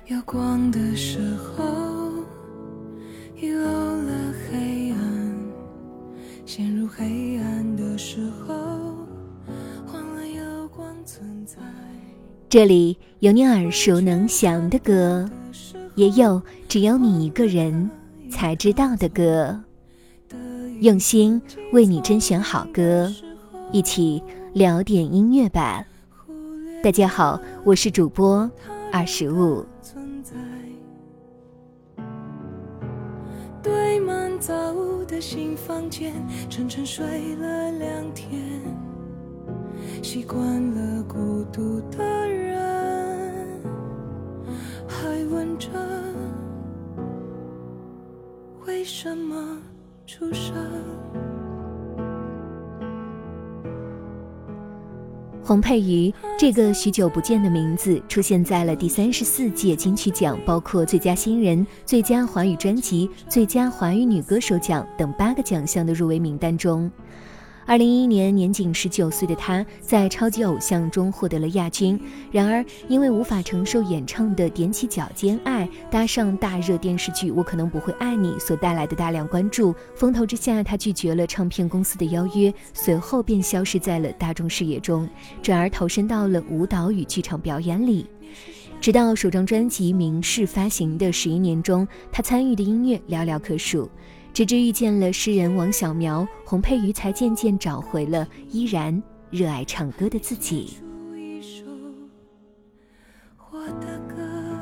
有光的时候，遗漏了黑暗，陷入黑暗的时候，忘了有光存在。 这里有你耳熟能详的歌，也有只有你一个人才知道的歌。用心为你甄选好歌，一起聊点音乐吧。大家好，我是主播25。 堆满早的新房间，沉沉睡了2天，习惯了孤独的人，还问着为什么出生。 洪佩瑜这个许久不见的名字出现在了第34届金曲奖，包括最佳新人、最佳华语专辑、最佳华语女歌手奖等8个奖项的入围名单中。2011年年仅19岁的她在超级偶像中获得了亚军，然而因为无法承受演唱的踮起脚尖爱搭上大热电视剧《我可能不会爱你》所带来的大量关注，风头之下她拒绝了唱片公司的邀约，随后便消失在了大众视野中，转而投身到了舞蹈与剧场表演里。直到首张专辑《明示》发行的11年中，她参与的音乐寥寥可数，直至遇见了诗人王小苗，洪佩瑜才渐渐找回了依然热爱唱歌的自己。 一首我的歌，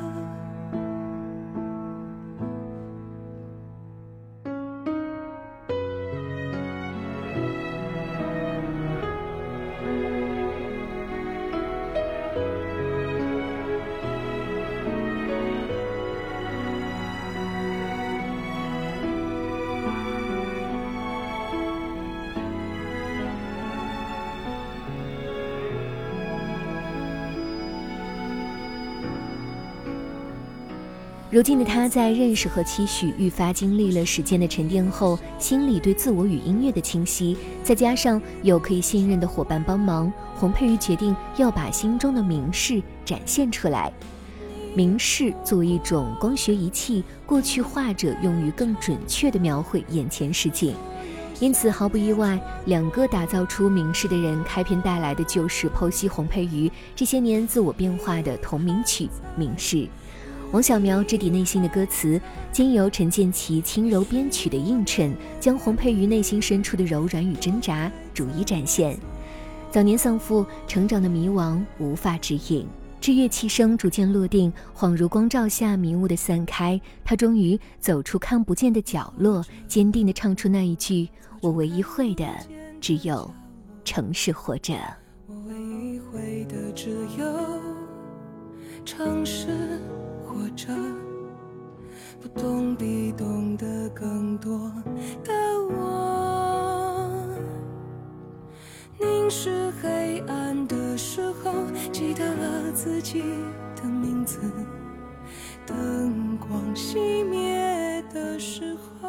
如今的他在认识和期许愈发经历了时间的沉淀后，心里对自我与音乐的清晰，再加上有可以信任的伙伴帮忙，洪佩瑜决定要把心中的明示展现出来。明示作为一种光学仪器，过去画着用于更准确地描绘眼前实景，因此毫不意外，2个打造出明示的人开篇带来的就是剖析洪佩瑜这些年自我变化的同名曲《明示》。王小苗直抵内心的歌词，经由陈建骐轻柔编曲的映衬，将洪佩瑜内心深处的柔软与挣扎逐一展现。早年丧父，成长的迷惘无法指引，至乐器声逐渐落定，恍如光照下迷雾的散开，他终于走出看不见的角落，坚定地唱出那一句：我唯一会的只有诚实活着。 我唯一会的只有诚实活着，不懂比懂得更多的我，凝视黑暗的时候，记得了自己的名字，灯光熄灭的时候，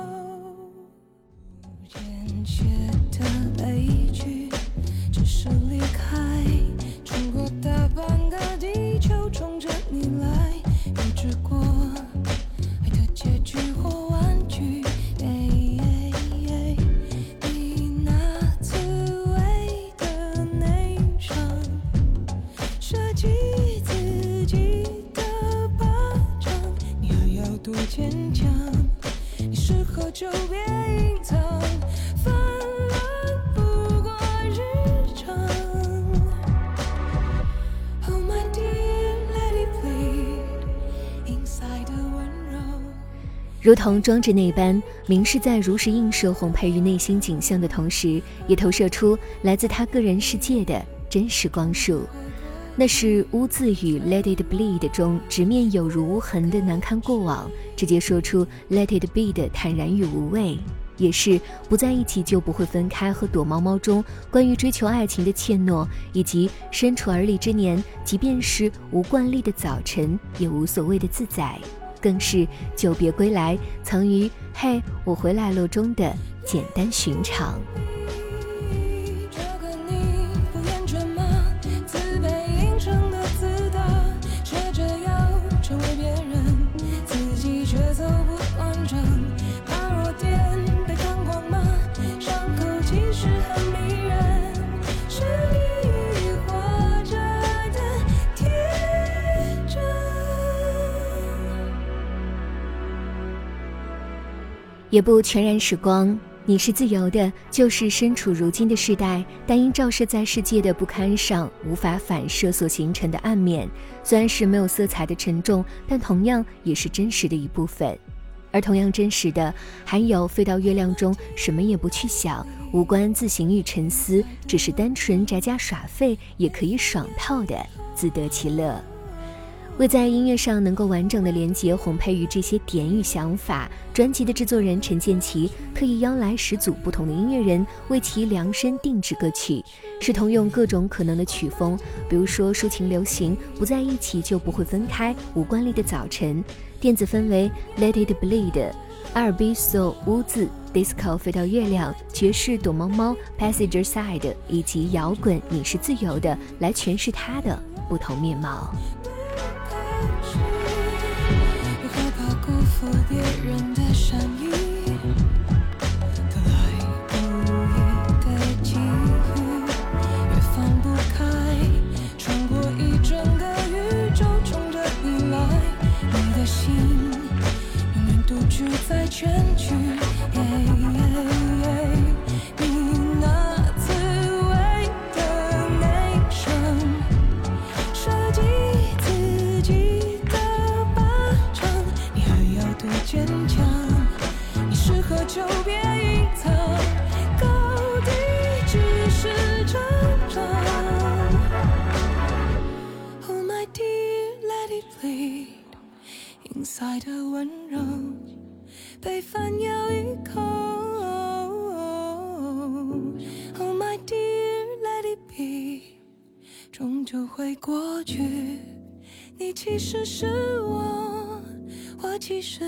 简写的悲剧只是离开，穿过大半个地球，冲着你来，预知过爱的结局或玩具，你那刺猬的内伤，设计自己的巴掌，你还要多坚强，你适合就别隐藏，泛滥不过日常。Oh my dear, let it bleed inside 的温柔。 如同装置那般，明示在如实映射洪佩瑜内心景象的同时，也投射出来自他个人世界的真实光束。那是污字与 Let it bleed 中直面有如无痕的难堪过往，直接说出 Let it be 的坦然与无畏，也是不在一起就不会分开和躲猫猫中关于追求爱情的怯懦，以及身处而立之年，即便是无惯例的早晨也无所谓的自在，更是久别归来藏于嘿我回来了中的简单寻常。 成为别人也不全然时光。你是自由的，就是身处如今的时代，但因照射在世界的不堪上，无法反射所形成的暗面。虽然是没有色彩的沉重，但同样也是真实的一部分。而同样真实的，还有飞到月亮中，什么也不去想，无关自省与沉思，只是单纯宅家耍废，也可以爽透的自得其乐。为在音乐上能够完整的连接洪佩瑜这些点与想法，专辑的制作人陈建骐特意邀来10组不同的音乐人为其量身定制歌曲，试图用各种可能的曲风，比如说抒情流行、不在一起就不会分开、无关力的早晨、电子氛围 Let It Bleed、R&B Soul 污渍、Disco 飞到月亮、爵士躲猫猫 Passenger Side 以及摇滚你是自由的，来诠释它的不同面貌。 又害怕辜负别人的善意，得来不易的机遇，越放不开，穿过一整个宇宙，冲着你来，你的心永远独居在全局。你那刺猬的内声，设计自己的巴掌，你还要多坚强？你适合就别隐藏，高低只是成长。Oh my dear, let it bleed inside 的温柔被反咬一口。Oh my dear, let it be， 终究会过去。你其实是我，我其实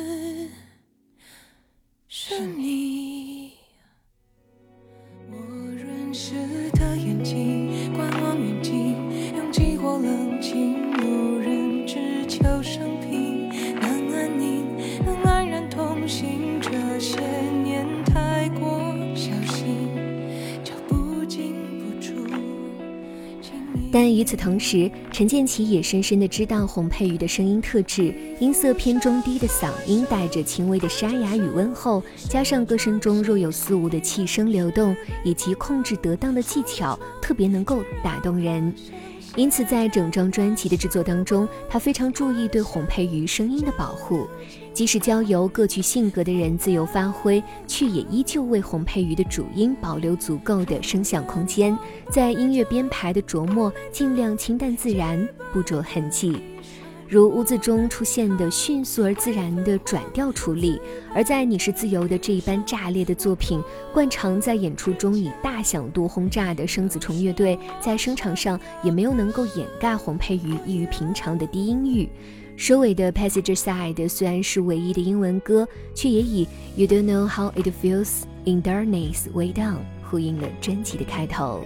是你。我认识的眼睛，观望远近，拥挤或冷静，无人只求生平，能安宁，能安然同行。这些年太过小心，脚步禁不住。 但与此同时，陈建骐也深深地知道洪佩瑜的声音特质，音色偏中低的嗓音带着轻微的沙哑与温厚，加上歌声中若有似无的气声流动，以及控制得当的技巧，特别能够打动人。因此在整张专辑的制作当中，他非常注意对洪佩瑜声音的保护，即使交由各具性格的人自由发挥，却也依旧为洪佩瑜的主音保留足够的声响空间，在音乐编排的琢磨尽量清淡自然，不着痕迹。如污渍中出现的迅速而自然的转调处理，而在你是自由的这一般炸裂的作品，惯常在演出中以大响度轰炸的生子虫乐队，在声场上也没有能够掩盖洪佩瑜异于平常的低音域。收尾的 Passenger Side 虽然是唯一的英文歌，却也以 You don't know how it feels in darkness way down 呼应了专辑的开头。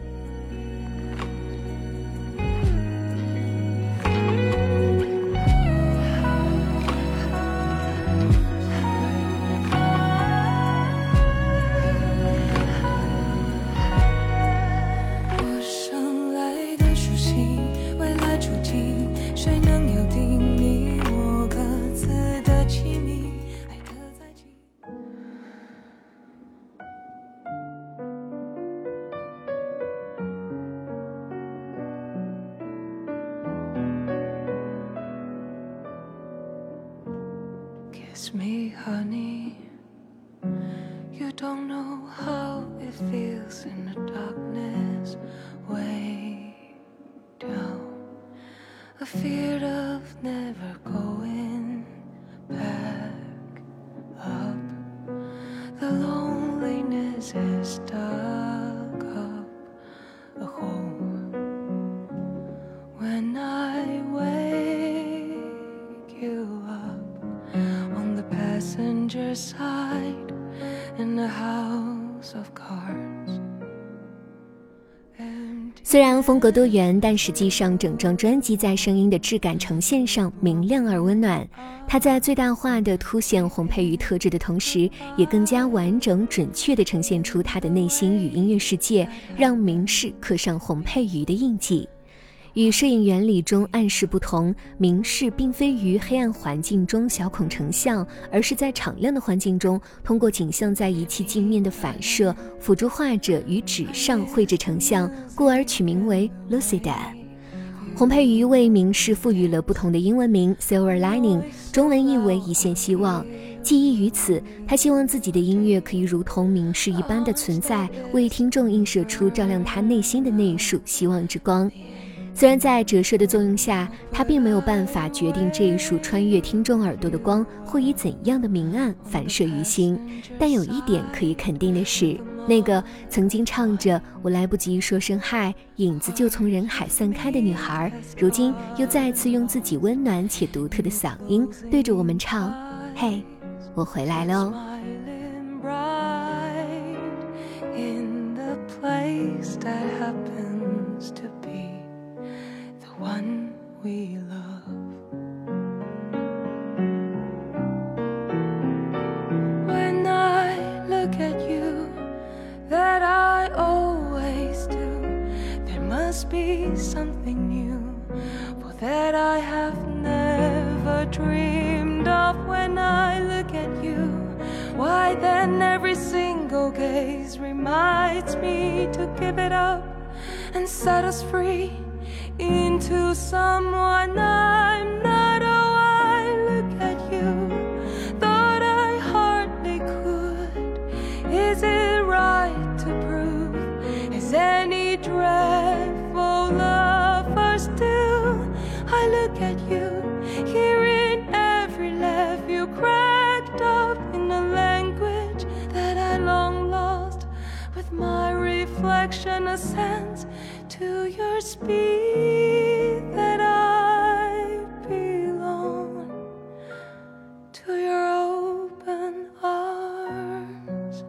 Kiss me, honey. You don't know how it feels in the darkness way down. Afeard of never going back up. The loneliness has dug up a hole. When I wake you up.On the passenger side in a house of cards. 虽然风格多元，但实际上整张专辑在声音的质感呈现上明亮而温暖。它在最大化的凸显洪佩瑜特质的同时，也更加完整准确地呈现出他的内心与音乐世界，让明世刻上洪佩瑜的印记。 与摄影原理中暗示不同，明示并非于黑暗环境中小孔成像，而是在敞亮的环境中，通过景象在仪器镜面的反射，辅助画者于纸上绘制成像，故而取名为 Lucida。洪佩瑜为明示赋予了不同的英文名 Silver Lining， 中文译为一线希望。寄意于此，他希望自己的音乐可以如同明示一般的存在，为听众映射出照亮他内心的那一束希望之光。虽然在折射的作用下，他并没有办法决定这一束穿越听众耳朵的光会以怎样的明暗反射于心，但有一点可以肯定的是，那个曾经唱着我来不及说声嗨，影子就从人海散开的女孩，如今又再次用自己温暖且独特的嗓音对着我们唱，嘿，我回来喽。 One we love. When I look at you, that I always do, there must be something new, for that I have never dreamed of. When I look at you, why then every single gaze reminds me to give it up and set us free.Into someone I'm not. Oh, I look at you, thought I hardly could. Is it right to prove? Is any dreadful lover still? I look at you, hearing every laugh you cracked up in a language that I long lost. With my reflection a sense to your speed that I belong to your open arms.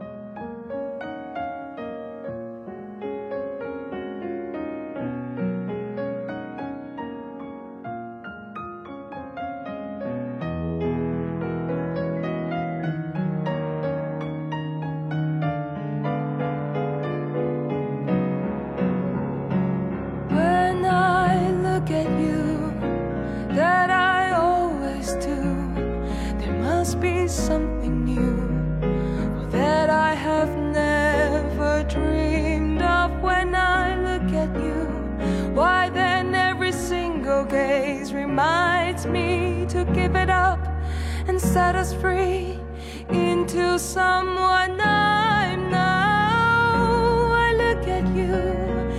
At you, that I always do, there must be something new, or that I have never dreamed of. When I look at you, why then every single gaze reminds me to give it up and set us free into someone I'm now. I look at you,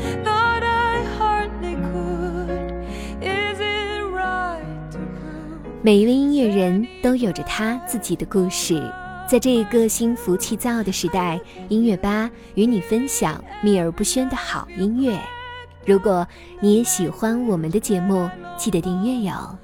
每一位音乐人都有着他自己的故事，在这一个心浮气躁的时代，音乐吧与你分享秘而不宣的好音乐。如果你也喜欢我们的节目，记得订阅哟。